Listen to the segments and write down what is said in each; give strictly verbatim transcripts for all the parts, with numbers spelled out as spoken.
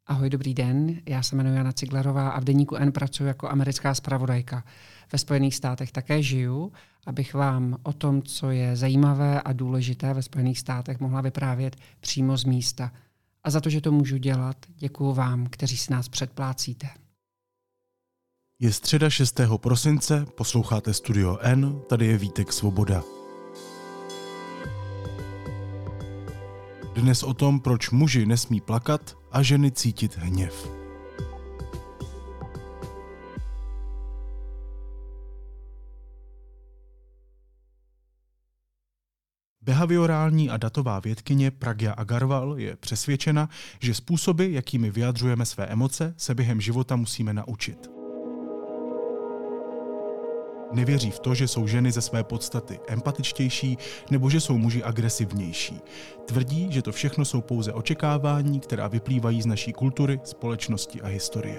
Ahoj, dobrý den. Já se jmenuji Jana Ciglerová a v deníku N pracuji jako americká zpravodajka. Ve Spojených státech také žiju, abych vám o tom, co je zajímavé a důležité ve Spojených státech, mohla vyprávět přímo z místa. A za to, že to můžu dělat, děkuju vám, kteří si nás předplácíte. Je středa šestého prosince, posloucháte Studio N, tady je Vítek Svoboda. Dnes o tom, proč muži nesmí plakat a ženy cítit hněv. Behaviorální a datová vědkyně Pragya Agarwal je přesvědčena, že způsoby, jakými vyjadřujeme své emoce, se během života musíme naučit. Nevěří v to, že jsou ženy ze své podstaty empatičtější nebo že jsou muži agresivnější. Tvrdí, že to všechno jsou pouze očekávání, která vyplývají z naší kultury, společnosti a historie.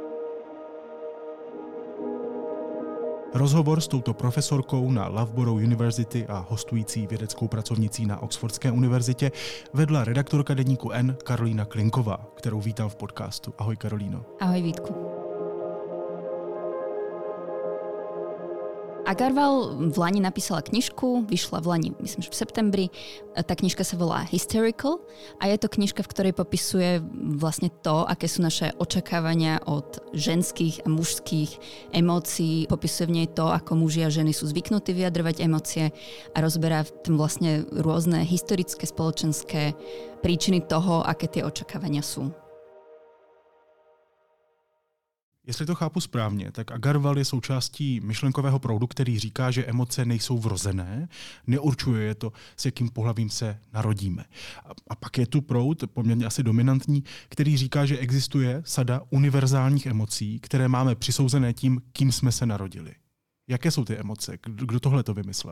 Rozhovor s touto profesorkou na Loughborough University a hostující vědeckou pracovnicí na Oxfordské univerzitě vedla redaktorka deníku N Karolína Klinková, kterou vítám v podcastu. Ahoj Karolíno. Ahoj Vítku. Agarwal v lani napísala knižku, vyšla v lani, myslím, že v septembri. Tá knižka sa volá Hysterical a je to knižka, v ktorej popisuje vlastne to, aké sú naše očakávania od ženských a mužských emócií. Popisuje v nej to, ako muži a ženy sú zvyknutí vyjadrovať emócie a rozberá v tom vlastne rôzne historické, spoločenské príčiny toho, aké tie očakávania sú. Jestli to chápu správně, tak Agarwal je součástí myšlenkového proudu, který říká, že emoce nejsou vrozené, neurčuje je to, s jakým pohlavím se narodíme. A pak je tu proud, poměrně asi dominantní, který říká, že existuje sada univerzálních emocí, které máme přisouzené tím, kým jsme se narodili. Jaké jsou ty emoce? Kdo tohle to vymyslel?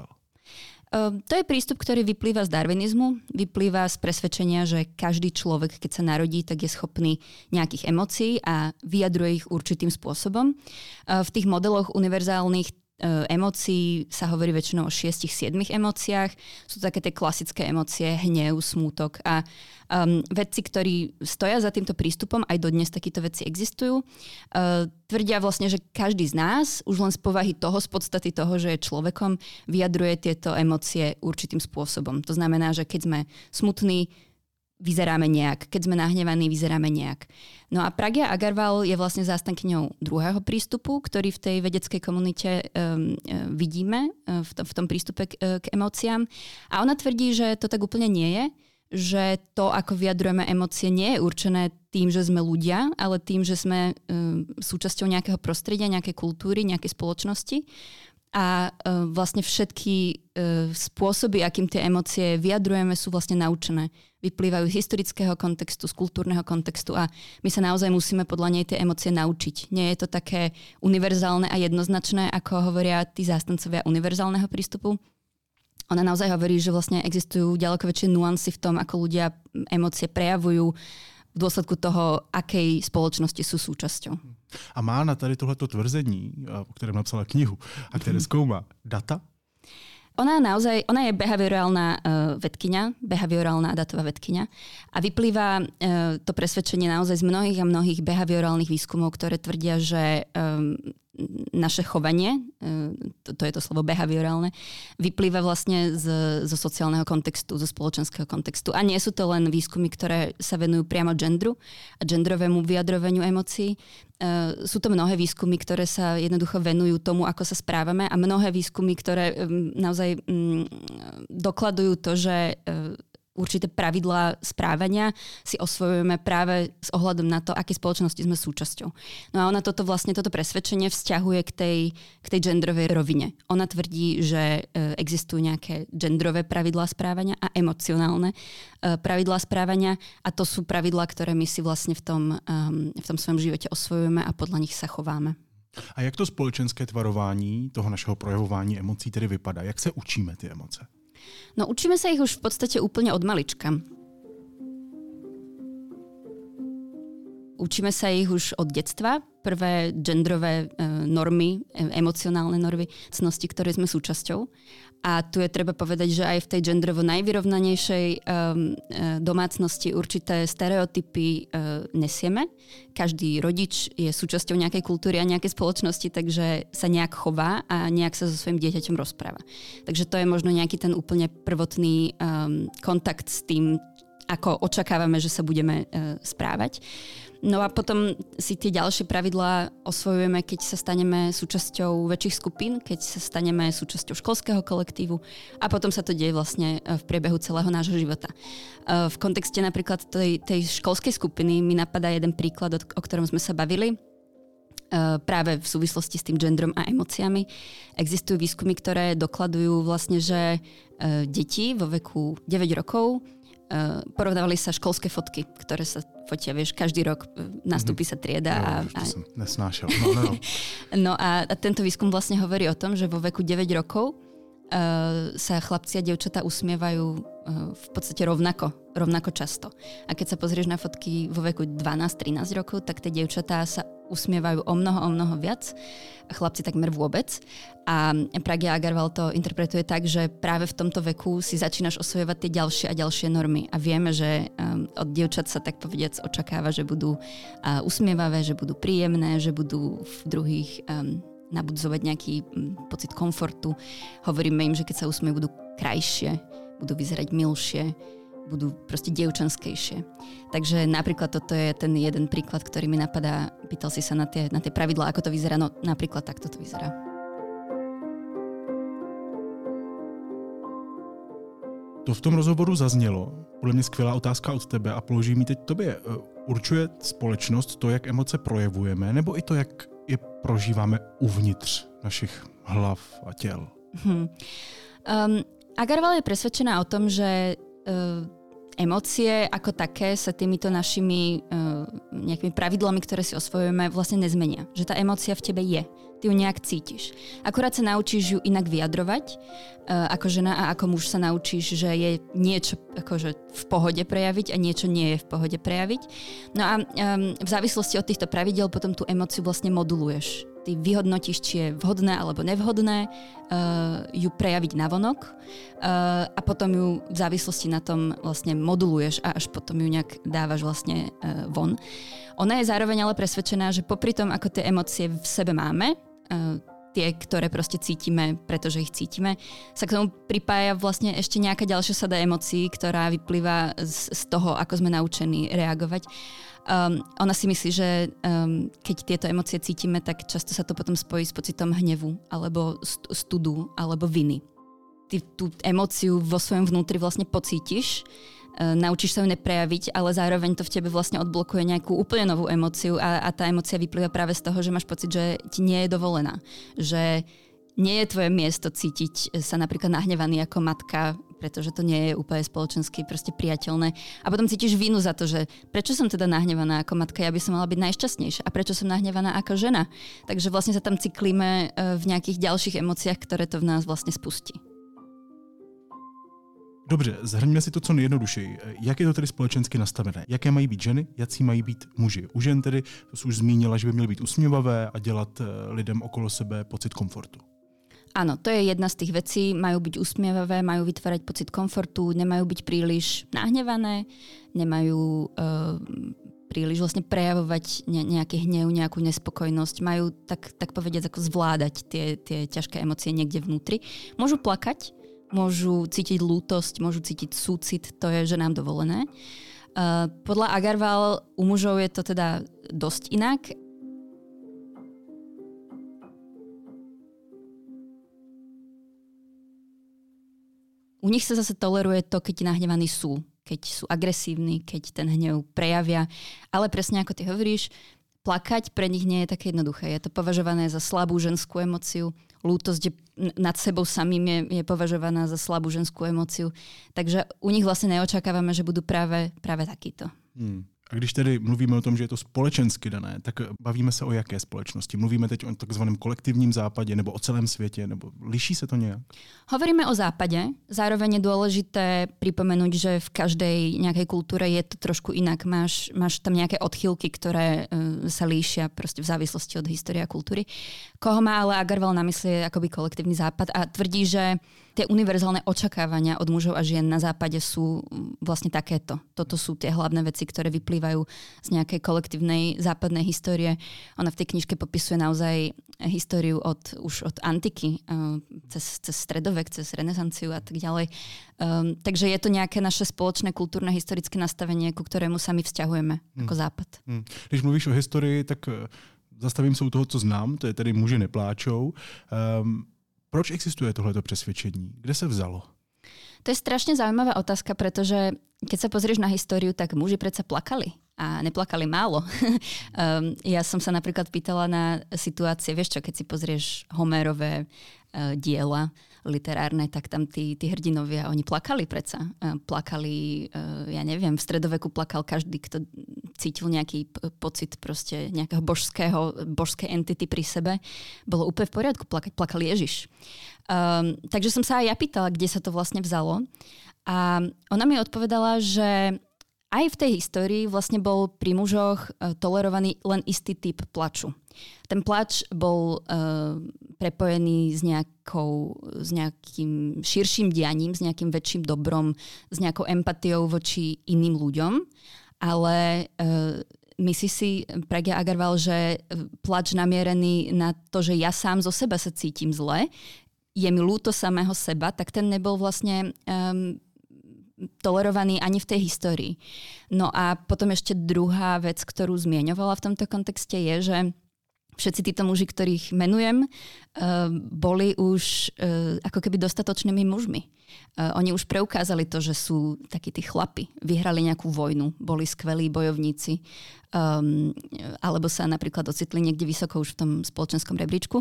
To je prístup, ktorý vyplýva z darwinizmu, vyplýva z presvedčenia, že každý človek, keď sa narodí, tak je schopný nejakých emócií a vyjadruje ich určitým spôsobom. V tých modeloch univerzálnych emócií sa hovorí väčšinou o šiestich siedmich emóciách. Sú to také tie klasické emócie, hnev, smútok a um, vedci, ktorí stoja za týmto prístupom, aj dodnes takíto veci existujú, uh, tvrdia vlastne, že každý z nás už len z povahy toho, z podstaty toho, že je človekom, vyjadruje tieto emócie určitým spôsobom. To znamená, že keď sme smutní, vyzeráme nejak, keď sme nahnevaní, vyzeráme nejak. No a Pragya Agarwal je vlastne zástankyňou druhého prístupu, ktorý v tej vedeckej komunite um, vidíme uh, v, to, v tom prístupe k, uh, k emóciám. A ona tvrdí, že to tak úplne nie je, že to, ako vyjadrujeme emócie, nie je určené tým, že sme ľudia, ale tým, že sme um, súčasťou nejakého prostredia, nejakej kultúry, nejakej spoločnosti. A uh, vlastne všetky uh, spôsoby, akým tie emócie vyjadrujeme, sú vlastne naučené. Vyplývajú z historického kontextu, z kultúrneho kontextu a my sa naozaj musíme podľa nej tie emócie naučiť. Nie je to také univerzálne a jednoznačné, ako hovoria tí zástancovia univerzálneho prístupu. Ona naozaj hovorí, že vlastne existujú ďaleko väčšie nuancy v tom, ako ľudia emócie prejavujú v dôsledku toho, akej spoločnosti sú súčasťou. A má na tady tohleto tvrzení, o kterém napsala knihu a které zkoumá data? Ona naozaj, ona je behaviorálna uh, vedkyňa, behaviorálna datová vedkyňa a vyplýva uh, to presvedčenie naozaj z mnohých a mnohých behaviorálnych výskumov, ktoré tvrdia, že um, naše chovanie, to, to je to slovo behaviorálne, vyplýva vlastne z, zo sociálneho kontextu, zo spoločenského kontextu. A nie sú to len výskumy, ktoré sa venujú priamo gendru a genderovému vyjadrovaniu emócií. Uh, sú to mnohé výskumy, ktoré sa jednoducho venujú tomu, ako sa správame a mnohé výskumy, ktoré um, naozaj um, dokladujú to, že uh, určité pravidlá správania si osvojujeme práve s ohľadom na to, aké spoločnosti sme súčasťou. No a ona toto vlastne, toto presvedčenie vzťahuje k tej, k tej genderovej rovine. Ona tvrdí, že existujú nejaké genderové pravidlá správania a emocionálne pravidlá správania a to sú pravidlá, ktoré my si vlastne v tom, v tom svojom živote osvojujeme a podľa nich sa chováme. A jak to společenské tvarování toho našeho projevování emocí tedy vypadá? Jak se učíme ty emoce? No učíme sa ich už v podstate úplne od malička. Učíme sa ich už od detstva, prvé genderové normy, emocionálne normy, cnosti, ktoré sme súčasťou. A tu je treba povedať, že aj v tej genderovo najvyrovnanejšej um, domácnosti určité stereotypy uh, nesieme. Každý rodič je súčasťou nejakej kultúry a nejakej spoločnosti, takže sa nejak chová a nejak sa so svojím dieťaťom rozpráva. Takže to je možno nejaký ten úplne prvotný um, kontakt s tým, ako očakávame, že sa budeme uh, správať. No a potom si tie ďalšie pravidlá osvojujeme, keď sa staneme súčasťou väčších skupín, keď sa staneme súčasťou školského kolektívu a potom sa to deje vlastne v priebehu celého nášho života. V kontexte napríklad tej, tej školskej skupiny mi napadá jeden príklad, o ktorom sme sa bavili. Práve v súvislosti s tým genderom a emóciami. Existujú výskumy, ktoré dokladujú vlastne, že deti vo veku deväť rokov porovnávali sa školské fotky, ktoré sa fotia, vieš, každý rok nastúpi sa trieda. Jo, a, a... som nesnášel. No, no, no. no a, a tento výskum vlastne hovorí o tom, že vo veku deväť rokov uh, sa chlapci a dievčatá usmievajú uh, v podstate rovnako, rovnako často. A keď sa pozrieš na fotky vo veku dvanásť trinásť rokov, tak tie dievčatá sa usmievajú o mnoho, o mnoho viac. Chlapci takmer vôbec. A Pragya Agarwal to interpretuje tak, že práve v tomto veku si začínaš osvojovať tie ďalšie a ďalšie normy. A vieme, že um, od dievčat sa tak povediac očakáva, že budú uh, usmievavé, že budú príjemné, že budú v druhých um, nabudzovať nejaký um, pocit komfortu. Hovoríme im, že keď sa usmievajú, budú krajšie, budú vyzerať milšie, budú proste dievčanskejšie. Takže napríklad toto je ten jeden príklad, ktorý mi napadá. Pýtal si sa na tie, na tie pravidlá, ako to vyzerá. No napríklad takto to vyzerá. To v tom rozhovoru zaznělo. Podle mě skvělá otázka od tebe a položím ji teď tobě. Určuje společnost to, jak emoce projevujeme, nebo i to, jak je prožíváme uvnitř našich hlav a těl? Hmm. Um, Agarwal je presvedčená o tom, že uh, emócie ako také sa týmito našimi uh, nejakými pravidlami, ktoré si osvojujeme, vlastne nezmenia. Že tá emócia v tebe je. Ty ju nejak cítiš. Akurát sa naučíš ju inak vyjadrovať. Uh, ako žena a ako muž sa naučíš, že je niečo akože v pohode prejaviť a niečo nie je v pohode prejaviť. No a um, v závislosti od týchto pravidel potom tú emóciu vlastne moduluješ. Ty vyhodnotíš, či je vhodné alebo nevhodné uh, ju prejaviť navonok uh, a potom ju v závislosti na tom vlastne moduluješ a až potom ju nejak dávaš vlastne uh, von. Ona je zároveň ale presvedčená, že popri tom, ako tie emócie v sebe máme, uh, tie, ktoré proste cítime, pretože ich cítime, sa k tomu pripája vlastne ešte nejaká ďalšia sada emócií, ktorá vyplýva z, z toho, ako sme naučení reagovať. Um, ona si myslí, že um, keď tieto emócie cítime, tak často sa to potom spojí s pocitom hnevu, alebo studu, alebo viny. Ty tú emóciu vo svojom vnútri vlastne pocítiš, uh, naučíš sa ju neprejaviť, ale zároveň to v tebe vlastne odblokuje nejakú úplne novú emóciu a, a tá emócia vyplýva práve z toho, že máš pocit, že ti nie je dovolená. Že nie je tvoje miesto cítiť sa napríklad nahnevaný ako matka, pretože to nie je úplne spoločensky proste priateľné. A potom cítiš vinu za to, že prečo som teda nahnevaná ako matka, ja by som mala byť najšťastnejšia. A prečo som nahnevaná ako žena? Takže vlastne sa tam cyklíme v nejakých ďalších emóciách, ktoré to v nás vlastne spustí. Dobře, zhrňme si to co nejjednodušeji. Jak je to tedy společensky nastavené? Jaké mají být ženy, jací mají být muži? U žen tedy, to jsi už zmínila, že by měly být usměvavé a dělat lidem okolo sebe pocit komfortu. Áno, to je jedna z tých vecí. Majú byť usmievavé, majú vytvárať pocit komfortu, nemajú byť príliš nahnevané, nemajú uh, príliš vlastne prejavovať ne- nejaký hnev, nejakú nespokojnosť. Majú tak, tak povediať ako zvládať tie, tie ťažké emócie niekde vnútri. Môžu plakať, môžu cítiť lútosť, môžu cítiť súcit, to je ženám dovolené. Uh, podľa Agarwal u mužov je to teda dosť inak. U nich sa zase toleruje to, keď nahnevaní sú, keď sú agresívni, keď ten hnev prejavia. Ale presne ako ty hovoríš, plakať pre nich nie je také jednoduché. Je to považované za slabú ženskú emóciu. Lútosť nad sebou samým je, je považovaná za slabú ženskú emóciu. Takže u nich vlastne neočakávame, že budú práve, práve takíto. Hmm. A když tedy mluvíme o tom, že je to společensky dané, tak bavíme se o jaké společnosti? Mluvíme teď o takzvaném kolektivním západě nebo o celém světě? Nebo liší se to nějak? Hovoríme o západe. Zároveň je dôležité pripomenúť, že v každej nejakej kultúre je to trošku inak. Máš, máš tam nejaké odchýlky, ktoré uh, sa líšia proste v závislosti od histórie a kultúry. Koho má ale Agarwal na mysli je akoby kolektívny západ a tvrdí, že tie univerzálne očakávania od mužov a žien na západe sú vlastne takéto. Toto sú tie hlavné veci, ktoré vyplývajú z nejakej kolektívnej západnej histórie. Ona v tej knižke popisuje naozaj históriu od, už od antiky, cez, cez stredovek, cez renesanciu a tak ďalej. Um, takže je to nejaké naše spoločné kultúrne historické nastavenie, ku ktorému sa my vzťahujeme hmm. ako západ. Hmm. Když mluvíš o historii, tak zastavím se u toho, co znám, to je tedy Muži nepláčou. Um, Proč existuje tohleto přesvědčení? Kde se vzalo? To je strašne zaujímavá otázka, pretože keď sa pozrieš na históriu, tak muži predsa plakali. A neplakali málo. um, ja som sa napríklad pýtala na situácie, vieš čo, keď si pozrieš Homérové uh, diela literárne, tak tam tí, tí hrdinovia, oni plakali predsa. Uh, plakali, uh, ja neviem, v stredoveku plakal každý, kto cítil nejaký p- pocit proste nejakého božského, božskej entity pri sebe. Bolo úplne v poriadku plakať. Plakal Ježiš. Um, takže som sa aj ja pýtala, kde sa to vlastne vzalo. A ona mi odpovedala, že aj v tej histórii vlastne bol pri mužoch tolerovaný len istý typ plaču. Ten plač bol uh, prepojený s, nejakou, s nejakým širším dianím, s nejakým väčším dobrom, s nejakou empatiou voči iným ľuďom. Ale uh, myslí si Pragya Agarwal, že plač namierený na to, že ja sám zo seba sa cítim zle, je mi ľúto samého seba, tak ten nebol vlastne um, tolerovaný ani v tej histórii. No a potom ešte druhá vec, ktorú zmieňovala v tomto kontexte je, že všetci títo muži, ktorých menujem, uh, boli už uh, ako keby dostatočnými mužmi. Uh, oni už preukázali to, že sú takí tí chlapi. Vyhrali nejakú vojnu, boli skvelí bojovníci, um, alebo sa napríklad ocitli niekde vysoko už v tom spoločenskom rebríčku.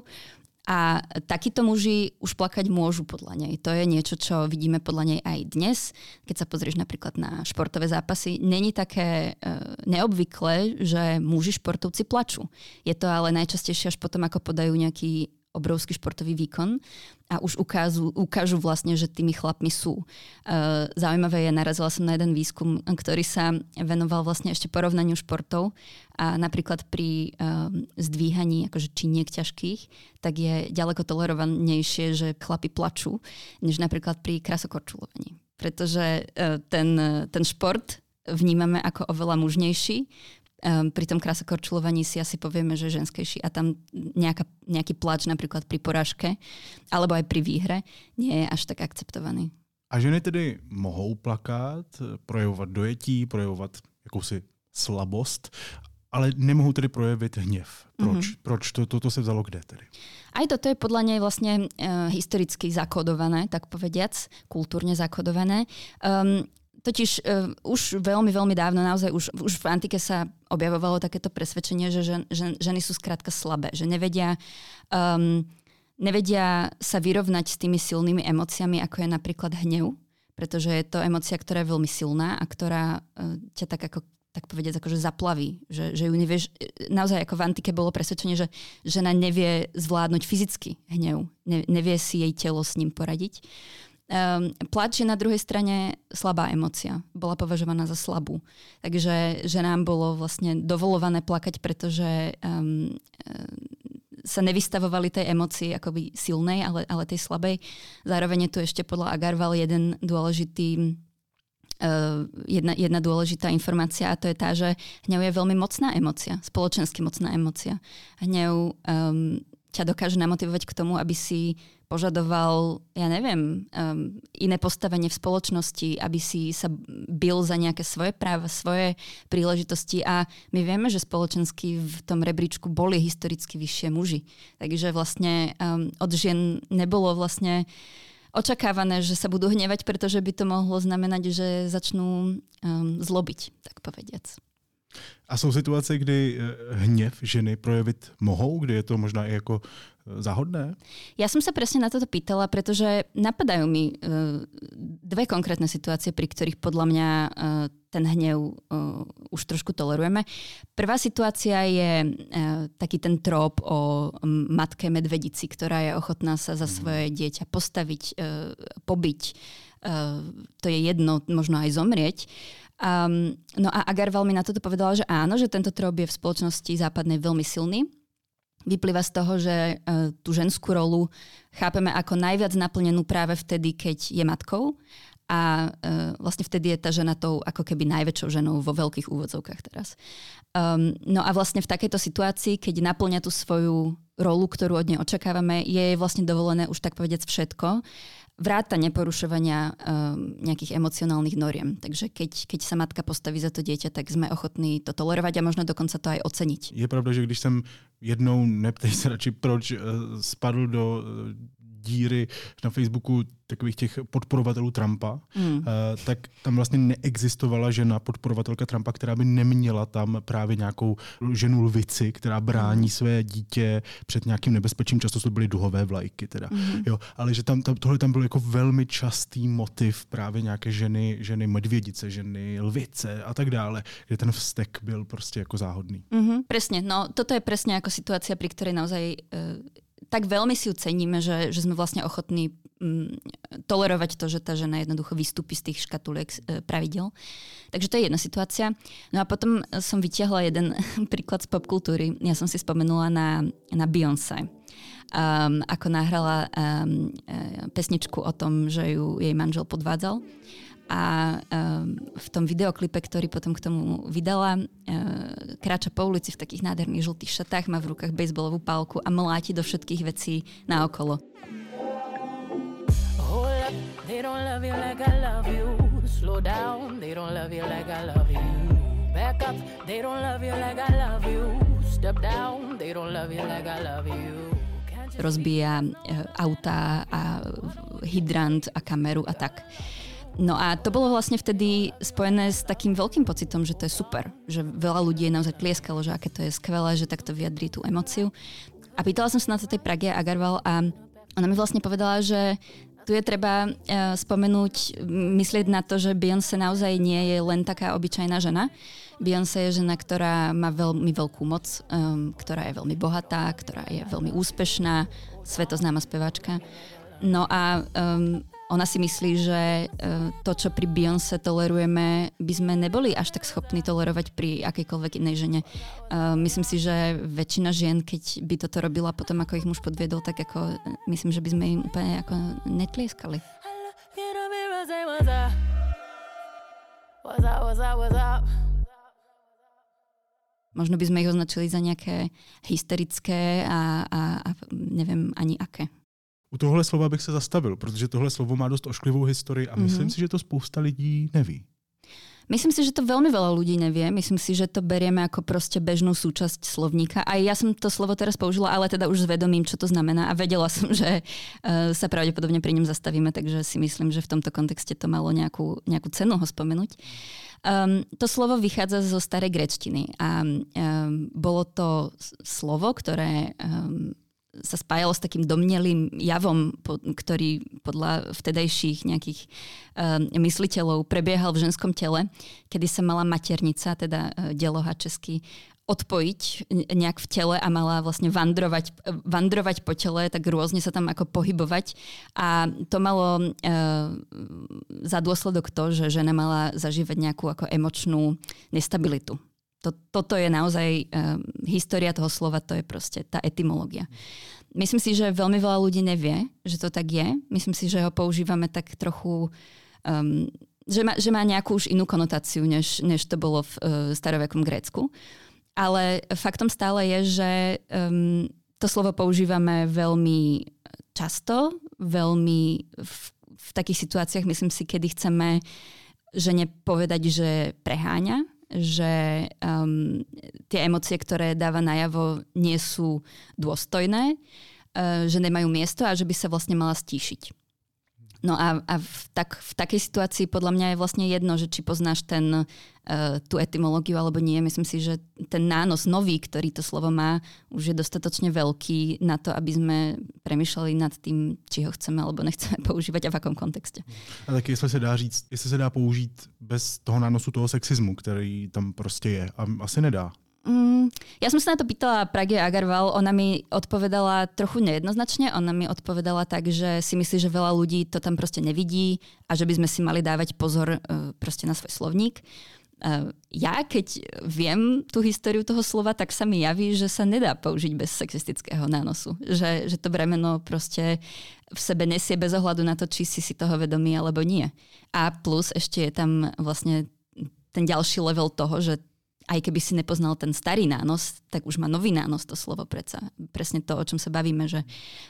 A takíto muži už plakať môžu podľa nej. To je niečo, čo vidíme podľa nej aj dnes. Keď sa pozrieš napríklad na športové zápasy, není také e, neobvyklé, že muži športovci plačú. Je to ale najčastejšie až potom, ako podajú nejaký obrovský športový výkon a už ukážu, ukážu vlastne, že tými chlapmi sú. Uh, zaujímavé je, narazila som na jeden výskum, ktorý sa venoval vlastne ešte porovnaniu športov a napríklad pri uh, zdvíhaní akože činiek ťažkých, tak je ďaleko tolerovanejšie, že chlapi plačú, než napríklad pri krasokorčulovaní. Pretože uh, ten, ten šport vnímame ako oveľa mužnejší. Um, pri tom krasokorčulovaní si asi povieme, že je ženskejší a tam nejaká, nejaký plač napríklad pri porážke alebo aj pri výhre nie je až tak akceptovaný. A ženy tedy mohou plakát, projevovat dojetí, projevovat jakousi slabost, ale nemohou tedy projevit hněv. Proč? Mm-hmm. Proč? To, to, to se vzalo kde tedy? Aj toto je podľa nej vlastne uh, historicky zakodované, tak povediac, kultúrne zakodované. Um, Totiž uh, už veľmi, veľmi dávno, naozaj už, už v antike sa objavovalo takéto presvedčenie, že žen, žen, ženy sú skrátka slabé, že nevedia, um, nevedia sa vyrovnať s tými silnými emóciami, ako je napríklad hnev, pretože je to emócia, ktorá je veľmi silná a ktorá uh, ťa tak ako tak povedať, akože zaplaví, že, že ju nevieš, naozaj ako v antike bolo presvedčenie, že žena nevie zvládnuť fyzicky hnev, ne, nevie si jej telo s ním poradiť. Um, plač je na druhej strane slabá emócia. Bola považovaná za slabú. Takže ženám bolo vlastne dovolované plakať, pretože um, um, sa nevystavovali tej emócii akoby silnej, ale, ale tej slabej. Zároveň je tu ešte podľa Agarwal jeden dôležitý uh, jedna, jedna dôležitá informácia a to je tá, že hnev je veľmi mocná emócia, spoločensky mocná emócia. Hnev um, ťa dokáže namotivovať k tomu, aby si požadoval, ja neviem, um, iné postavenie v spoločnosti, aby si sa bil za nejaké svoje práva, svoje príležitosti a my vieme, že spoločensky v tom rebríčku boli historicky vyššie muži. Takže vlastne um, od žien nebolo vlastne očakávané, že sa budú hnevať, pretože by to mohlo znamenať, že začnú um, zlobiť, tak povediac. A jsou situace, kdy hněv ženy projevit mohou, kdy je to možná i jako záhodné? Ja som sa presne na toto pýtala, pretože napadajú mi uh, dve konkrétne situácie, pri ktorých podľa mňa uh, ten hnev uh, už trošku tolerujeme. Prvá situácia je uh, taký ten trop o matke medvedici, ktorá je ochotná sa za svoje dieťa postaviť, uh, pobiť. Uh, to je jedno, možno aj zomrieť. Um, no a Agarwal mi na toto povedala, že áno, že tento trop je v spoločnosti západnej veľmi silný. Vyplýva z toho, že uh, tú ženskú rolu chápeme ako najviac naplnenú práve vtedy, keď je matkou a uh, vlastne vtedy je tá žena tou ako keby najväčšou ženou vo veľkých úvodzovkách teraz. Um, no a vlastne v takejto situácii, keď naplňa tú svoju rolu, ktorú od nej očakávame, je jej vlastne dovolené už tak povedec všetko, vrátane porušovania um, nejakých emocionálnych noriem. Takže keď, keď sa matka postaví za to dieťa, tak sme ochotní to tolerovať a možno dokonca to aj oceniť. Je pravda, že když jsem jednou, neptej se radši proč, spadl do díry na Facebooku takových těch podporovatelů Trumpa, mm. tak tam vlastně neexistovala žena podporovatelka Trumpa, která by neměla tam právě nějakou ženu lvici, která brání mm. své dítě před nějakým nebezpečím. Často to byly duhové vlajky teda. Mm. Jo, ale že tam, tam, tohle tam byl jako velmi častý motiv právě nějaké ženy, ženy medvědice, ženy lvice a tak dále, kde ten vztek byl prostě jako záhodný. Mm-hmm, presne, no toto je presne ako situácia, pri ktorej naozaj uh, tak veľmi si ju ceníme, že, že sme vlastne ochotní um, tolerovať to, že tá žena jednoducho vystúpi z tých škatuliek uh, pravidel. Takže to je jedna situácia. No a potom som vytiahla jeden príklad z popkultúry. Ja som si spomenula na, na Beyoncé. Um, ako nahrala um, pesničku o tom, že ju jej manžel podvádzal. A um, v tom videoklipe, ktorý potom k tomu vydala, uh, kráča po ulici v takých nádherných žltých šatách, má v rukách bejsbolovú pálku a mláti do všetkých vecí naokolo. Hold up, they don't love you like I love you. Slow down, they don't love you like I love you. Back up, they don't love you like I love you. Step down, they don't love you like I love you. Rozbíja uh, autá a hydrant a kameru a tak. No a to bolo vlastne vtedy spojené s takým veľkým pocitom, že to je super. Že veľa ľudí je naozaj tlieskalo, že aké to je skvelé, že takto vyjadrí tú emóciu. A pýtala som sa na to tej Prage Agarwal a ona mi vlastne povedala, že tu je treba uh, spomenúť, myslieť na to, že Beyoncé naozaj nie je len taká obyčajná žena. Beyoncé je žena, ktorá má veľmi veľkú moc, um, ktorá je veľmi bohatá, ktorá je veľmi úspešná, svetoznáma speváčka. No a um, ona si myslí, že uh, to, čo pri Beyoncé tolerujeme, by sme neboli až tak schopní tolerovať pri akejkoľvek inej žene. Uh, myslím si, že väčšina žien, keď by toto robila potom, ako ich muž podviedol, tak ako myslím, že by sme im úplne ako netlieskali. Možno by sme ich označili za nejaké hysterické a, a, a neviem ani aké. U tohle slova bych se zastavil, protože tohle slovo má dost ošklivou historii a mm-hmm. myslím si, že to spousta lidí neví. Myslím si, že to veľmi veľa ľudí nevie. Myslím si, že to berieme ako proste bežnú súčasť slovníka. A ja som to slovo teraz použila, ale teda už zvedomím, čo to znamená. A vedela som, že uh, sa pravdepodobne pri ňom zastavíme, takže si myslím, že v tomto kontexte to malo nejakú, nejakú cenu ho spomenúť. Um, to slovo vychádza zo starej gréčtiny a um, bolo to slovo, ktoré um, sa spájalo s takým domnelým javom, po, ktorý podľa vtedajších nejakých um, mysliteľov prebiehal v ženskom tele, kedy sa mala maternica, teda uh, deloha česky, odpojiť nejak v tele a mala vlastne vandrovať, vandrovať po tele, tak rôzne sa tam ako pohybovať. A to malo uh, za dôsledok to, že žena mala zažívať nejakú ako emočnú nestabilitu. To, toto je naozaj uh, história toho slova, to je proste tá etymológia. Myslím si, že veľmi veľa ľudí nevie, že to tak je. Myslím si, že ho používame tak trochu, um, že, má, že má nejakú už inú konotáciu, než, než to bolo v uh, starovekom Grécku. Ale faktom stále je, že um, to slovo používame veľmi často, veľmi v, v takých situáciách, myslím si, kedy chceme žene povedať, že preháňa, že um, tie emócie, ktoré dáva najavo, nie sú dôstojné, uh, že nemajú miesto a že by sa vlastne mala stíšiť. No a, a v, tak, v takej situácii podľa mňa je vlastne jedno, že či poznáš ten, uh, tú etymológiu alebo nie. Myslím si, že ten nános nový, ktorý to slovo má, už je dostatočne veľký na to, aby sme premýšľali nad tým, či ho chceme alebo nechceme používať a v akom kontexte. A taky jestli se dá říct, jestli se dá použít bez toho nánosu toho sexismu, který tam prostě je. A asi nedá. Mm, ja som sa na to pýtala Pragě Agarwal, ona mi odpovedala trochu nejednoznačne, ona mi odpovedala tak, že si myslí, že veľa ľudí to tam proste nevidí a že by sme si mali dávať pozor uh, proste na svoj slovník. Uh, ja, keď viem tú históriu toho slova, tak sa mi javí, že sa nedá použiť bez sexistického nánosu. Že, že to bremeno proste v sebe nesie bez ohľadu na to, či si si toho vedomý alebo nie. A plus ešte je tam vlastne ten ďalší level toho, že aj keby si nepoznal ten starý nános, tak už má nový nános to slovo predsa. Presne to, o čom sa bavíme, že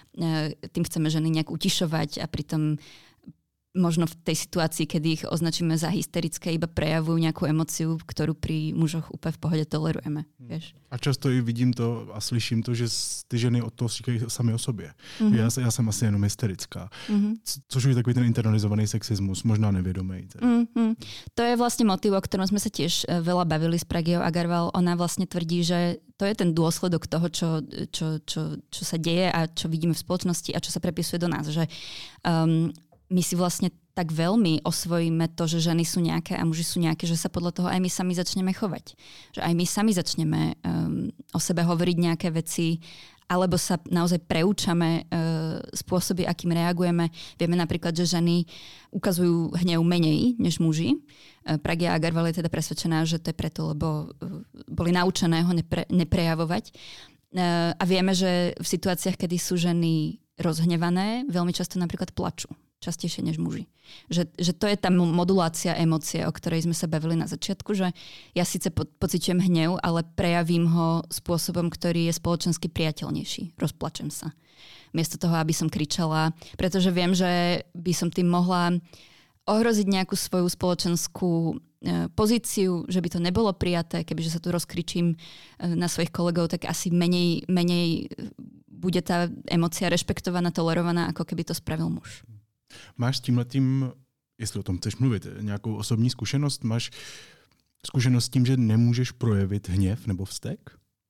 tým chceme ženy nejak utišovať a pritom možno v tej situácii, kedy ich označíme za hysterické, iba prejavujú nejakú emociu, ktorú pri mužoch úplne v pohode tolerujeme. Vieš? A často i vidím to a slyším to, že ty ženy od toho říkají sami o sobě. Mm-hmm. Já, já jsem asi jenom hysterická. Mm-hmm. Co, což je takový ten internalizovaný sexismus, možná nevědomý. Mm-hmm. To je vlastne motiv, o ktorom sme sa tiež veľa bavili s Pragyou Agarwal. Ona vlastne tvrdí, že to je ten dôsledok toho, čo, čo, čo, čo sa deje a čo vidíme v spoločnosti a čo sa prepisuje do nás. Že um, my si vlastne tak veľmi osvojíme to, že ženy sú nejaké a muži sú nejaké, že sa podľa toho aj my sami začneme chovať. Že aj my sami začneme um, o sebe hovoriť nejaké veci, alebo sa naozaj preúčame uh, spôsoby, akým reagujeme. Vieme napríklad, že ženy ukazujú hnev menej než muži. Uh, Pragya Agarwal je teda presvedčená, že to je preto, lebo uh, boli naučené ho nepre, neprejavovať. Uh, a vieme, že v situáciách, kedy sú ženy rozhnevané, veľmi často napríklad plačú. Častejšie než muži. Že, že to je tá modulácia emócie, o ktorej sme sa bavili na začiatku, že ja síce po, pociťujem hnev, ale prejavím ho spôsobom, ktorý je spoločensky priateľnejší. Rozplačem sa. Miesto toho, aby som kričala, pretože viem, že by som tým mohla ohroziť nejakú svoju spoločenskú e, pozíciu, že by to nebolo prijaté, kebyže sa tu rozkričím e, na svojich kolegov, tak asi menej, menej bude tá emócia rešpektovaná, tolerovaná, ako keby to spravil muž. Máš s tímhletím, jestli o tom chceš mluvit, nějakou osobní zkušenost? Máš zkušenost s tím, že nemůžeš projevit hněv nebo vztek?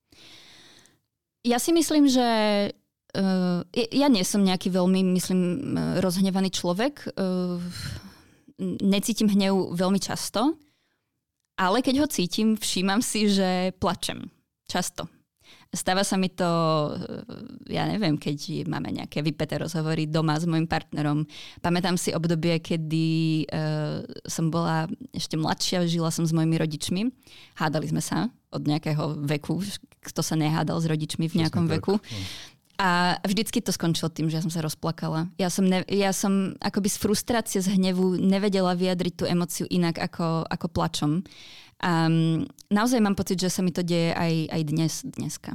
Ja si myslím, že uh, ja nie som nejaký veľmi, myslím, rozhnevaný človek. Uh, necítim hnev veľmi často, ale keď ho cítim, všímam si, že plačem. Často. Stáva sa mi to, ja neviem, keď máme nejaké vypäté rozhovory doma s mojim partnerom. Pamätám si obdobie, kedy uh, som bola ešte mladšia, žila som s mojimi rodičmi. Hádali sme sa od nejakého veku. Kto sa nehádal s rodičmi v nejakom Přesne veku. Tak. A vždycky to skončilo tým, že ja som sa rozplakala. Ja som, ne, ja som akoby z frustrácie, z hnevu nevedela vyjadriť tú emóciu inak ako, ako plačom. A naozaj mám pocit, že sa mi to deje aj, aj dnes, dneska.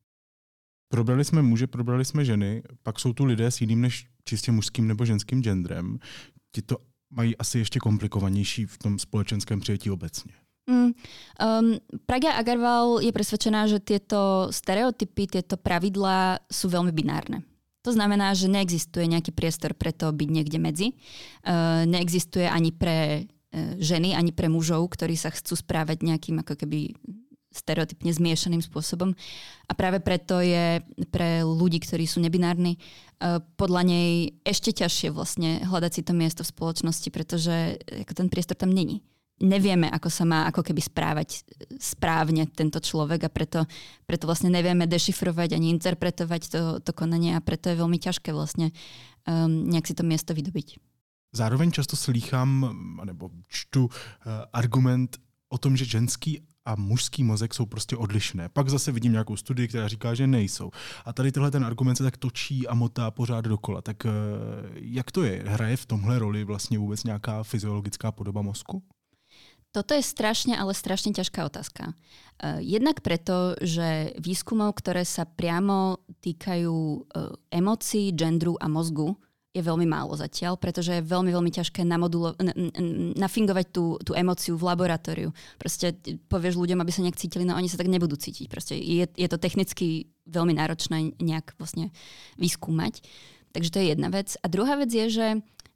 Probrali jsme muže, probrali jsme ženy, pak jsou tu lidé s jiným než čistě mužským nebo ženským genderem. Ti to mají asi ještě komplikovanější v tom společenském přijetí obecně. Mm, um, Pragya Agarwal je presvedčená, že tieto stereotypy, tieto pravidlá sú veľmi binárne. To znamená, že neexistuje nejaký priestor pre to byť niekde medzi. Uh, neexistuje ani pre ženy, ani pre mužov, ktorí sa chcú správať nejakým ako keby stereotypne zmiešaným spôsobom. A práve preto je pre ľudí, ktorí sú nebinárni, podľa nej ešte ťažšie vlastne hľadať si to miesto v spoločnosti, pretože ako ten priestor tam není. Nevieme, ako sa má ako keby správať správne tento človek a preto, preto vlastne nevieme dešifrovať ani interpretovať to, to konanie a preto je veľmi ťažké vlastne um, nejak si to miesto vydobiť. Zároveň často slýchám, nebo čtu uh, argument o tom, že ženský a mužský mozek jsou prostě odlišné. Pak zase vidím nějakou studii, která říká, že nejsou. A tady tenhle ten argument se tak točí a motá pořád dokola. Tak uh, jak to je? Hraje v tomhle roli vlastně vůbec nějaká fyziologická podoba mozku? Toto je strašne, ale strašne ťažká otázka. Uh, jednak preto, že výskumov, ktoré sa priamo týkajú uh, emócií, gendru a mozgu, je veľmi málo zatiaľ, pretože je veľmi, veľmi ťažké namodulo- n- n- nafingovať tú, tú emóciu v laboratóriu. Proste povieš ľuďom, aby sa nejak cítili, no oni sa tak nebudú cítiť. Proste je, je to technicky veľmi náročné nejak vlastne vyskúmať. Takže to je jedna vec. A druhá vec je, že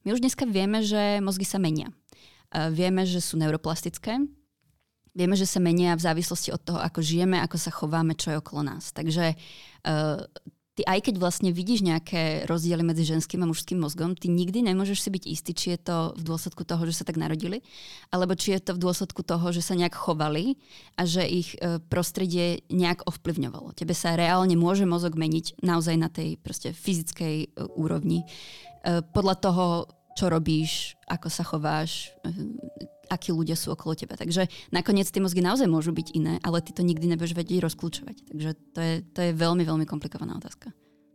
My už dneska vieme, že mozgy sa menia. Vieme, že sú neuroplastické. Vieme, že sa menia v závislosti od toho, ako žijeme, ako sa chováme, čo je okolo nás. Takže uh, ty aj keď vlastne vidíš nejaké rozdiely medzi ženským a mužským mozgom, ty nikdy nemôžeš si byť istý, či je to v dôsledku toho, že sa tak narodili, alebo či je to v dôsledku toho, že sa nejak chovali a že ich uh, prostredie nejak ovplyvňovalo. Tebe sa reálne môže mozog meniť naozaj na tej proste fyzickej uh, úrovni. Uh, podľa toho, čo robíš, ako sa chováš, akí ľudia sú okolo teba. Takže nakoniec tie mozgy naozaj môžu byť iné, ale ty to nikdy nebudeš vedieť rozklúčovať. Takže to je, to je veľmi, veľmi komplikovaná otázka.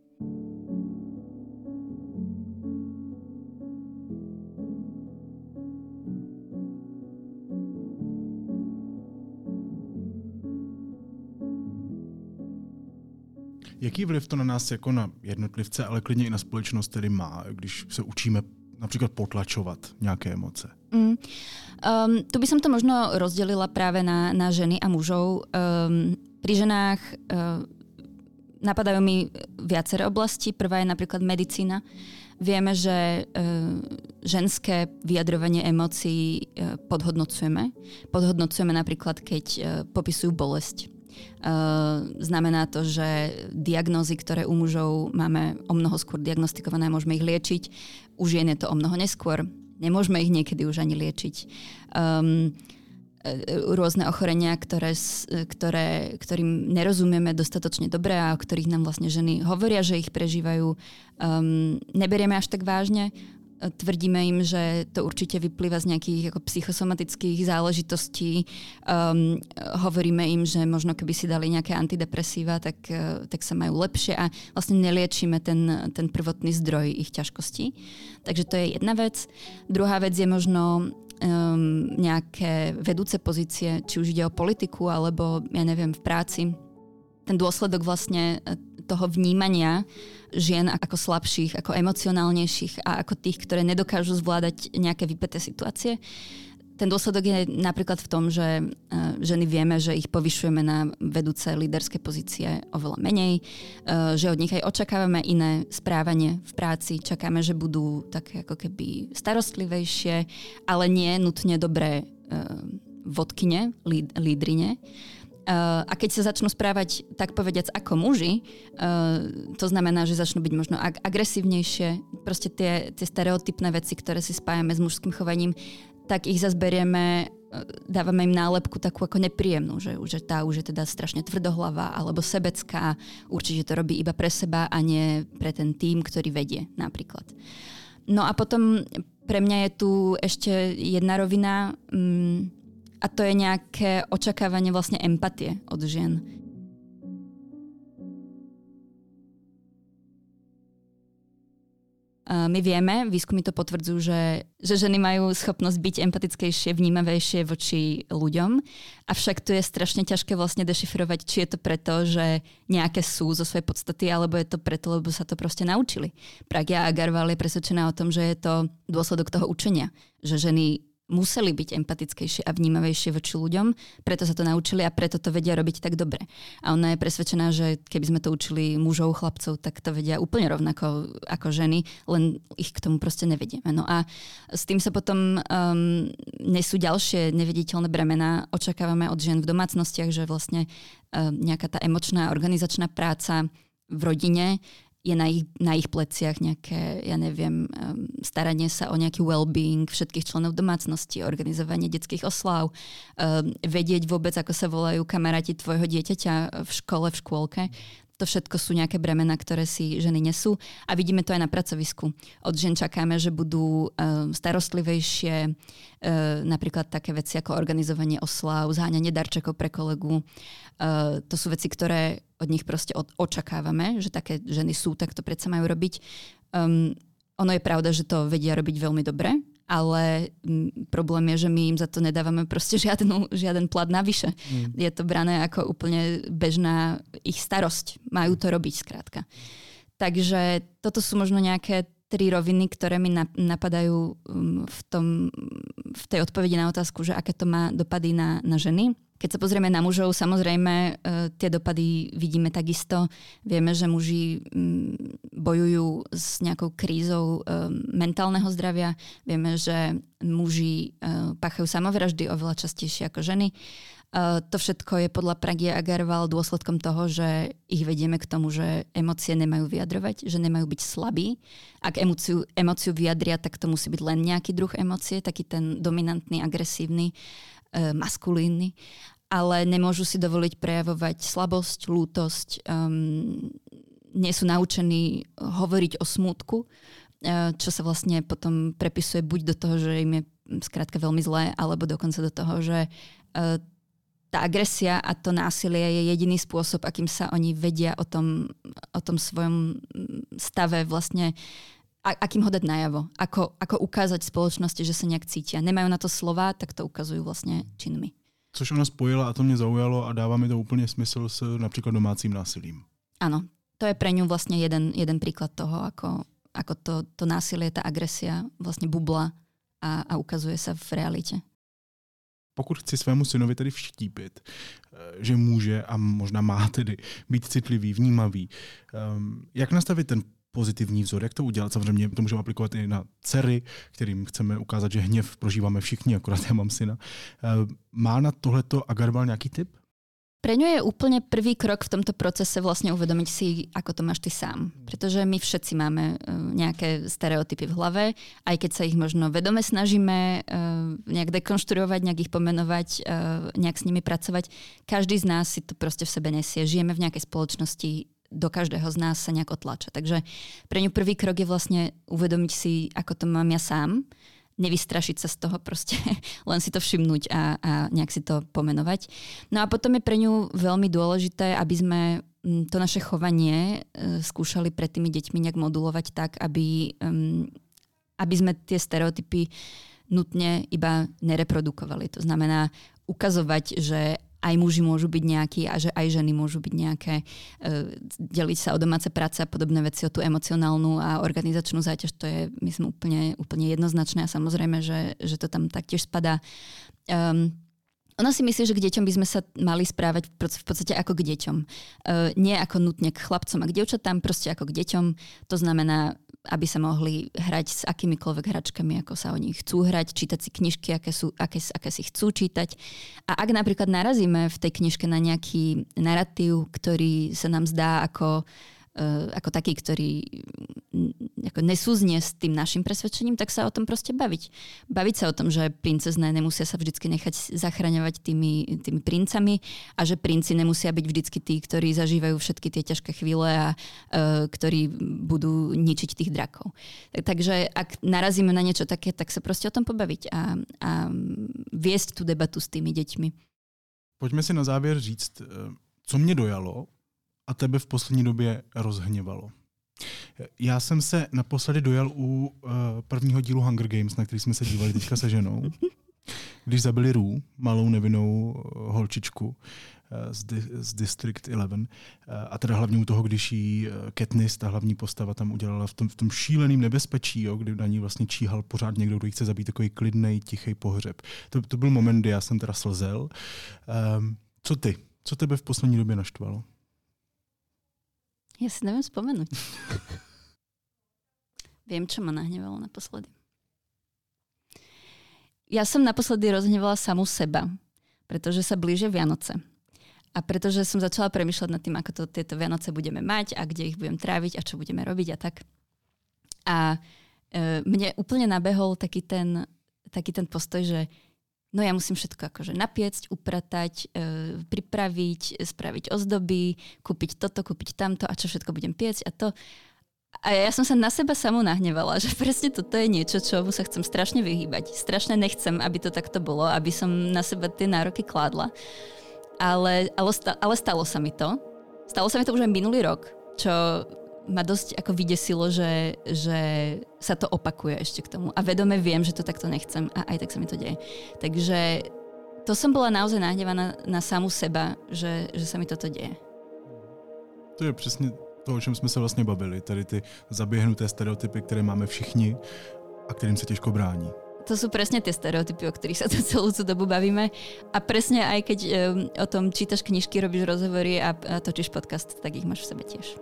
Jaký vliv to na nás jako na jednotlivce, ale klidně i na společnost tedy má, když se učíme například potlačovat nějaké emoce? Mm. Um, tu by som to možno rozdelila práve na, na ženy a mužov. Um, pri ženách um, napadajú mi viaceré oblasti. Prvá je napríklad medicína. Vieme, že um, ženské vyjadrovanie emócií um, podhodnocujeme. Podhodnocujeme napríklad, keď um, popisujú bolesť. Uh, znamená to, že diagnózy, ktoré u mužov máme o mnoho skôr diagnostikované, môžeme ich liečiť. U žien je to o mnoho neskôr. Nemôžeme ich niekedy už ani liečiť. Um, rôzne ochorenia, ktoré, ktoré, ktorým nerozumieme dostatočne dobre a o ktorých nám vlastne ženy hovoria, že ich prežívajú, um, neberieme až tak vážne. Tvrdíme im, že to určite vyplýva z nejakých ako psychosomatických záležitostí. Um, hovoríme im, že možno keby si dali nejaké antidepresíva, tak, uh, tak sa majú lepšie a vlastne neliečíme ten, ten prvotný zdroj ich ťažkostí. Takže to je jedna vec. Druhá vec je možno um, nejaké vedúce pozície, či už ide o politiku alebo, ja neviem, v práci. Ten dôsledok vlastne toho vnímania žien ako slabších, ako emocionálnejších a ako tých, ktoré nedokážu zvládať nejaké vypäté situácie. Ten dôsledok je napríklad v tom, že ženy vieme, že ich povyšujeme na vedúce líderské pozície oveľa menej, že od nich aj očakávame iné správanie v práci, čakáme, že budú také ako keby starostlivejšie, ale nie nutne dobré vodkyne, lídrine. Uh, a keď sa začnú správať, tak povediac, ako muži, uh, to znamená, že začnú byť možno ag- agresívnejšie, proste tie, tie stereotypné veci, ktoré si spájame s mužským chovaním, tak ich zase berieme, uh, dávame im nálepku takú ako nepríjemnú, že, že tá už je teda strašne tvrdohlavá alebo sebecká, určite to robí iba pre seba a nie pre ten tím, ktorý vedie napríklad. No a potom pre mňa je tu ešte jedna rovina, um, a to je nejaké očakávanie vlastne empatie od žien. My vieme, výskumy to potvrdzujú, že, že ženy majú schopnosť byť empatickejšie, vnímavejšie voči ľuďom, avšak tu je strašne ťažké vlastne dešifrovať, či je to preto, že nejaké sú zo svojej podstaty, alebo je to preto, lebo sa to proste naučili. Pragya Agarwal je presvedčená o tom, že je to dôsledok toho učenia, že ženy museli byť empatickejšie a vnímavejšie voči ľuďom, preto sa to naučili a preto to vedia robiť tak dobre. A ona je presvedčená, že keby sme to učili mužov, chlapcov, tak to vedia úplne rovnako ako ženy, len ich k tomu proste nevedieme. No a s tým sa potom um, nesú ďalšie neviditeľné bremená. Očakávame od žien v domácnostiach, že vlastne um, nejaká tá emočná organizačná práca v rodine je na ich, na ich pleciach nejaké, ja neviem, um, staranie sa o nejaký well-being všetkých členov domácnosti, organizovanie detských oslav, um, vedieť vôbec, ako sa volajú kamaráti tvojho dieťaťa v škole, v škôlke. To všetko sú nejaké bremená, ktoré si ženy nesú a vidíme to aj na pracovisku. Od žien čakáme, že budú um, starostlivejšie, um, napríklad také veci ako organizovanie oslav, zháňanie darčekov pre kolegu. Uh, to sú veci, ktoré od nich proste od, očakávame, že také ženy sú, tak to predsa majú robiť. Um, ono je pravda, že to vedia robiť veľmi dobre, ale m, problém je, že my im za to nedávame proste žiadnu, žiaden plat navyše. Mm. Je to brané ako úplne bežná ich starosť. Majú to robiť skrátka. Takže toto sú možno nejaké tri roviny, ktoré mi napadajú v, tom, v tej odpovedi na otázku, že aké to má dopady na, na ženy. Keď sa pozrieme na mužov, samozrejme tie dopady vidíme takisto. Vieme, že muži bojujú s nejakou krízou mentálneho zdravia. Vieme, že muži páchajú samovraždy oveľa častejšie ako ženy. To všetko je podľa Pragie Agarwal dôsledkom toho, že ich vedieme k tomu, že emócie nemajú vyjadrovať, že nemajú byť slabí. Ak emóciu, emóciu vyjadria, tak to musí byť len nejaký druh emócie, taký ten dominantný, agresívny, maskulínny, ale nemôžu si dovoliť prejavovať slabosť, lútosť, um, nie sú naučení hovoriť o smútku, uh, čo sa vlastne potom prepisuje buď do toho, že im je skrátka veľmi zlé, alebo dokonca do toho, že uh, tá agresia a to násilie je jediný spôsob, akým sa oni vedia o tom, o tom svojom stave vlastne, a, akým ho dať najavo, ako, ako ukázať spoločnosti, že sa nejak cítia. Nemajú na to slova, tak to ukazujú vlastne činmi. Což ona spojila a to mě zaujalo a dává mi to úplně smysl s například domácím násilím. Áno, to je pre ňu vlastne jeden, jeden príklad toho, ako, ako to, to násilie, tá agresia vlastne bubla a, a ukazuje sa v realite. Pokud chci svému synovi tedy vštípit, že může a možná má tedy být citlivý, vnímavý, jak nastavit ten pozitivní vzor, jak to udělat? Samozřejmě to můžeme aplikovat i na dcery, kterým chceme ukázat, že hněv prožíváme všichni, akorát já mám syna. Má na tohleto Agarwal nějaký tip? Pre ňu je úplne prvý krok v tomto procese vlastne uvedomiť si, ako to máš ty sám. Pretože my všetci máme nejaké stereotypy v hlave, aj keď sa ich možno vedome snažíme nejak dekonštruovať, nejak ich pomenovať, nejak s nimi pracovať. Každý z nás si to proste v sebe nesie. Žijeme v nejakej spoločnosti, do každého z nás sa nejak otlača. Takže pre ňu prvý krok je vlastne uvedomiť si, ako to mám ja sám, nevystrašiť sa z toho proste, len si to všimnúť a, a nejak si to pomenovať. No a potom je pre ňu veľmi dôležité, aby sme to naše chovanie skúšali pred tými deťmi nejak modulovať tak, aby, aby sme tie stereotypy nutne iba nereprodukovali. To znamená ukazovať, že aj muži môžu byť nejakí a že aj ženy môžu byť nejaké, deliť sa o domáce práce a podobné veci, o tú emocionálnu a organizačnú záťaž, to je, myslím, úplne, úplne jednoznačné a samozrejme, že, že to tam taktiež spadá. Um, Ona si myslí, že k deťom by sme sa mali správať v podstate ako k deťom. Uh, nie ako nutne k chlapcom a k dievčatám, proste ako k deťom. To znamená, aby sa mohli hrať s akýmikoľvek hračkami, ako sa oni chcú hrať, čítať si knižky, aké, sú, aké, aké si chcú čítať. A ak napríklad narazíme v tej knižke na nejaký narratív, ktorý sa nám zdá ako ako taký, ktorý ako nesúznie s tým našim presvedčením, tak sa o tom proste baviť. Baviť sa o tom, že princezné nemusia sa vždycky nechať zachraňovať tými, tými princami a že princi nemusia byť vždycky tí, ktorí zažívajú všetky tie ťažké chvíle a uh, ktorí budú ničiť tých drakov. Takže ak narazíme na niečo také, tak sa proste o tom pobaviť a, a viesť tú debatu s tými deťmi. Pojďme si na závěr říct, co mě dojalo a tebe v poslední době rozhněvalo. Já jsem se naposledy dojal u uh, prvního dílu Hunger Games, na který jsme se dívali teďka se ženou, když zabili Rue, malou nevinnou uh, holčičku uh, z, di- z District jedenáct. Uh, a teda hlavně u toho, když jí uh, Katniss, ta hlavní postava, tam udělala v tom, v tom šíleným nebezpečí, jo, kdy na ní vlastně číhal pořád někdo, kdo jí chce zabít, takový klidnej, tichý pohřeb. To, to byl moment, kdy já jsem teda slzel. Um, co ty? Co tebe v poslední době naštvalo? Ja si neviem spomenúť. Viem, čo ma nahnevalo naposledy. Ja som naposledy rozhnevala samu seba, pretože sa blíže Vianoce. A pretože som začala premýšľať nad tým, ako to tieto Vianoce budeme mať a kde ich budem tráviť a čo budeme robiť a tak. A e, mne úplne nabehol taký ten, taký ten postoj, že no ja musím všetko akože napiecť, upratať, e, pripraviť, spraviť ozdoby, kúpiť toto, kúpiť tamto a čo všetko budem piecť a to. A ja som sa na seba samú nahnevala, že presne toto je niečo, čomu sa chcem strašne vyhýbať. Strašne nechcem, aby to takto bolo, aby som na seba tie nároky kládla. Ale, ale, ale stalo sa mi to. Stalo sa mi to už aj minulý rok, čo ma dosť ako vydesilo, že, že sa to opakuje ešte k tomu. A vedome viem, že to takto nechcem a aj tak sa mi to deje. Takže to som bola naozaj nahnevaná na samu seba, že, že sa mi toto deje. To je přesně To, o čem jsme se vlastně bavili, tady ty zaběhnuté stereotypy, které máme všichni a kterým se těžko brání. To sú presne tie stereotypy, o ktorých sa tu celú tú dobu bavíme. A presne aj keď um, o tom čítaš knižky, robíš rozhovory a, a točíš podcast, tak ich máš v sebe tiež.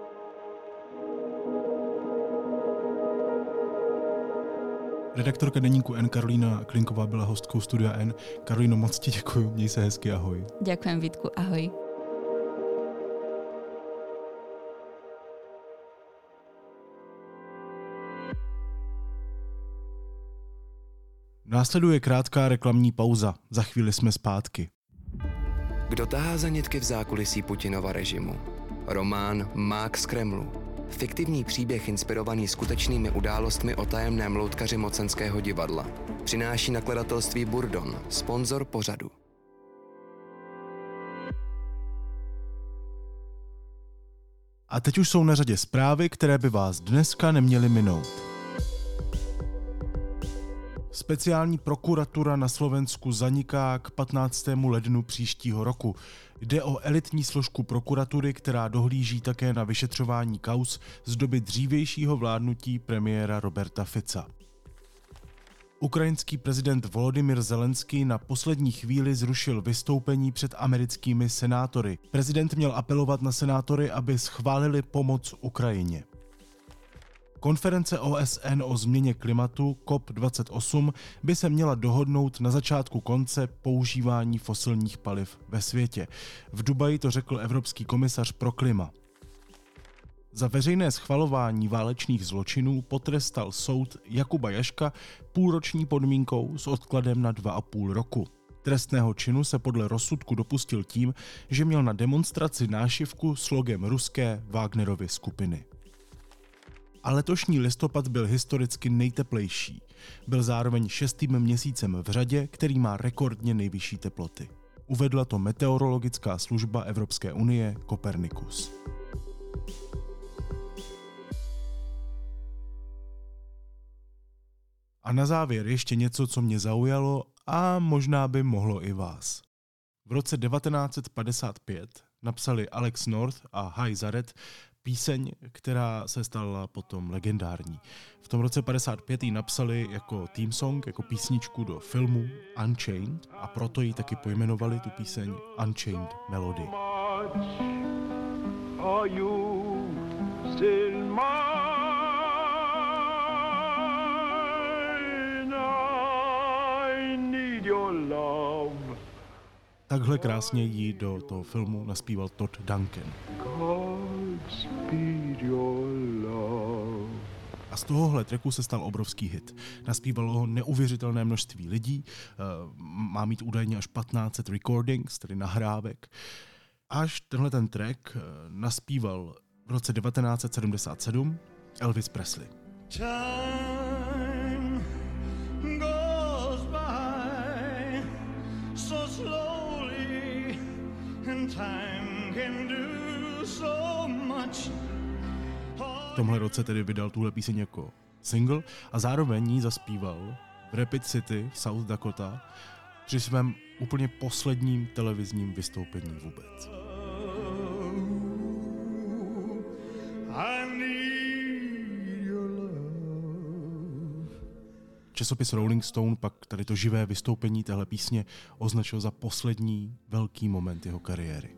Redaktorka deníku N Karolína Klinková byla hostkou Studia N. Karolíno, moc ti děkuju, měj se hezky, ahoj. Ďakujem, Vítku, ahoj. Následuje krátká reklamní pauza. Za chvíli jsme zpátky. Kdo tahá za nitky v zákulisí Putinova režimu? Román Mák z Kremlu. Fiktivní příběh inspirovaný skutečnými událostmi o tajemném loutkaři mocenského divadla. Přináší nakladatelství Burdon, sponzor pořadu. A teď už jsou na řadě zprávy, které by vás dneska neměly minout. Speciální prokuratura na Slovensku zaniká k patnáctému lednu příštího roku. Jde o elitní složku prokuratury, která dohlíží také na vyšetřování kauz z doby dřívějšího vládnutí premiéra Roberta Fica. Ukrajinský prezident Volodymyr Zelenský na poslední chvíli zrušil vystoupení před americkými senátory. Prezident měl apelovat na senátory, aby schválili pomoc Ukrajině. Konference O S N o změně klimatu C O P dvacet osm by se měla dohodnout na začátku konce používání fosilních paliv ve světě. V Dubaji to řekl Evropský komisař pro klima. Za veřejné schvalování válečných zločinů potrestal soud Jakuba Jaška půlroční podmínkou s odkladem na dva a půl roku. Trestného činu se podle rozsudku dopustil tím, že měl na demonstraci nášivku s logem ruské Wagnerovy skupiny. A letošní listopad byl historicky nejteplejší. Byl zároveň šestým měsícem v řadě, který má rekordně nejvyšší teploty. Uvedla to meteorologická služba Evropské unie Copernicus. A na závěr ještě něco, co mě zaujalo a možná by mohlo i vás. V roce devatenáct set padesát pět napsali Alex North a Hai Zaret píseň, která se stala potom legendární. V tom roce padesát pět ji napsali jako theme song, jako písničku do filmu Unchained a proto ji taky pojmenovali tu píseň Unchained Melody. Are you still mine? I need your love. Takhle krásně ji do toho filmu naspíval Todd Duncan. A z tohohle tracku se stal obrovský hit. Naspívalo ho neuvěřitelné množství lidí, má mít údajně až patnáct set recordings, tedy nahrávek. Až tenhle ten track naspíval v roce devatenáct set sedmdesát sedm Elvis Presley. Time goes by so slowly and time can do so much. V tomhle roce tedy vydal tuhle píseň jako single a zároveň ji zaspíval v Rapid City v South Dakota při svém úplně posledním televizním vystoupení vůbec. Časopis Rolling Stone pak tady to živé vystoupení téhle písně označil za poslední velký moment jeho kariéry.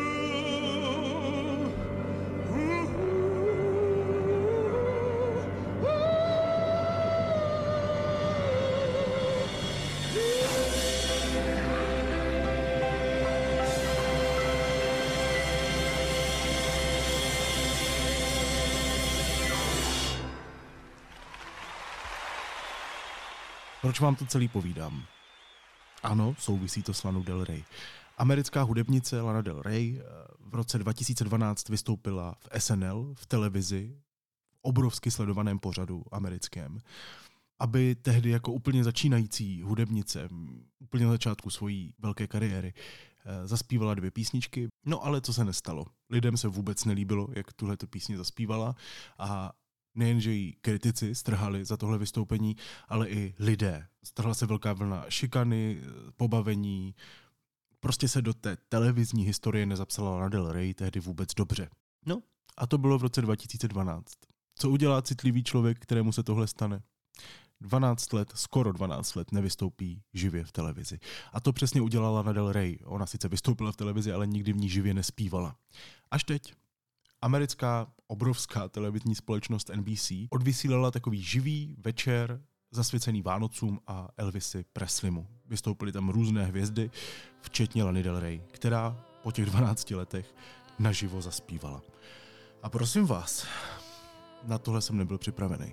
Proč vám to celý povídám? Ano, souvisí to s Lanou Del Rey. Americká hudebnice Lana Del Rey v roce dva tisíce dvanáct vystoupila v S N L, v televizi, v obrovsky sledovaném pořadu americkém, aby tehdy jako úplně začínající hudebnice, úplně na začátku svojí velké kariéry, zaspívala dvě písničky. No ale co se nestalo? Lidem se vůbec nelíbilo, jak tuhleto písně zaspívala a nejenže jí kritici strhali za tohle vystoupení, ale i lidé. Strhla se velká vlna šikany, pobavení. Prostě se do té televizní historie nezapsala Lana Del Rey tehdy vůbec dobře. No, A to bylo v roce dva tisíce dvanáct. Co udělá citlivý člověk, kterému se tohle stane? dvanáct let, skoro dvanáct let nevystoupí živě v televizi. A to přesně udělala Lana Del Rey. Ona sice vystoupila v televizi, ale nikdy v ní živě nespívala. Až teď. Americká obrovská televizní společnost N B C odvysílala takový živý večer zasvěcený Vánocům a Elvisi Presleymu. Vystoupily tam různé hvězdy, včetně Lany Del Rey, která po těch dvanácti letech naživo zaspívala. A prosím vás, na tohle jsem nebyl připravený.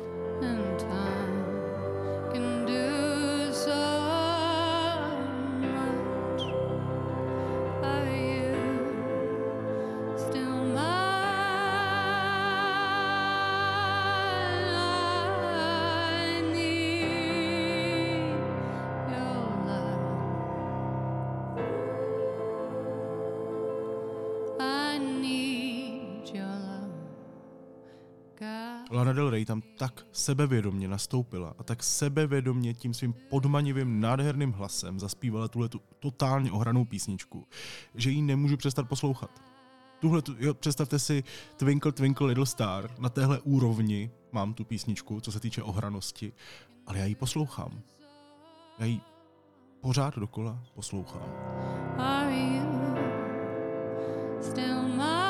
Lana Del Rey tam tak sebevědomně nastoupila a tak sebevědomně tím svým podmanivým nádherným hlasem zaspívala tuhletu totálně ohranou písničku, že ji nemůžu přestat poslouchat. Tuhle, jo, představte si Twinkle Twinkle Little Star, na téhle úrovni mám tu písničku, co se týče ohranosti, ale já ji poslouchám. Já ji pořád dokola poslouchám. Are you still mine?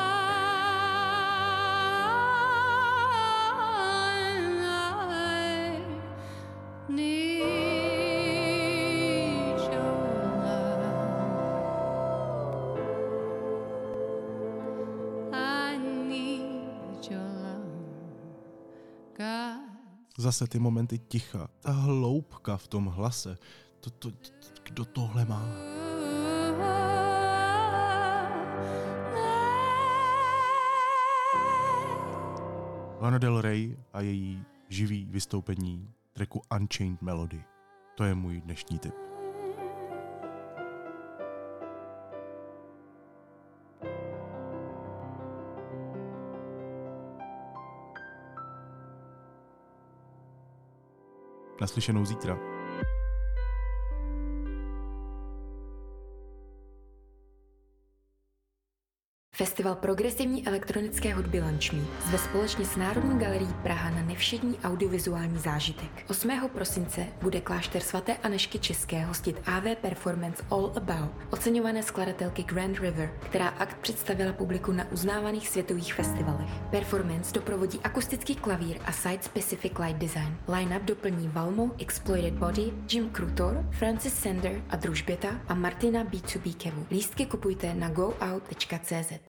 Zase ty momenty ticha, ta hloubka v tom hlase, to, to, to, kdo tohle má? Lana Del Rey a její živý vystoupení tracku Unchained Melody. To je můj dnešní tip. Naslyšenou zítra. Festival progresivní elektronické hudby Lunch Me zve společně s Národní galerií Praha na nevšední audiovizuální zážitek. osmého prosince bude klášter svaté Anežky České hostit A V Performance All About, oceňované skladatelky Grand River, která akt představila publiku na uznávaných světových festivalech. Performance doprovodí akustický klavír a site-specific light design. Line-up doplní Valmo, Exploited Body, Jim Krutor, Francis Sander a Družběta a Martina B dva B Kevu. Lístky kupujte na go out tečka cé zet.